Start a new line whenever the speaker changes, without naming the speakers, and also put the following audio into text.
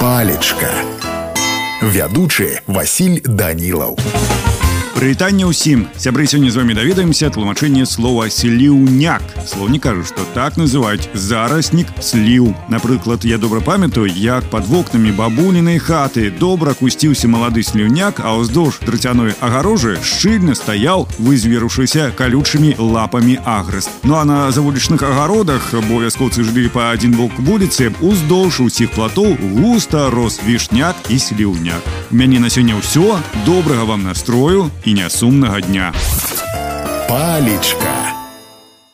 Палечка. Вядучы Васіль Данілаў.
Прывітанне ўсім. Сябры, сёння з вами даведаемся тлумачэнне слова «сліўняк». Слоўнік кажа, што так называюць зараснік сліў. Напрыклад, я добра памятаю, як пад вокнамі бабулінай хаты добра кусціўся малады сліўняк, а ўздоўж драцяной агарожы шчыльна стаяў, вызверушыся калючымі лапамі агрэст. Ну а на завулічных агародах, бо вяскоўцы жылі па адзін бок вуліцы, уздоўж усіх платоў густа рос вішняк і сліўняк. У мяне на сёння ўсё. Добрага вам настрою і нясумнага дня.
Палечка.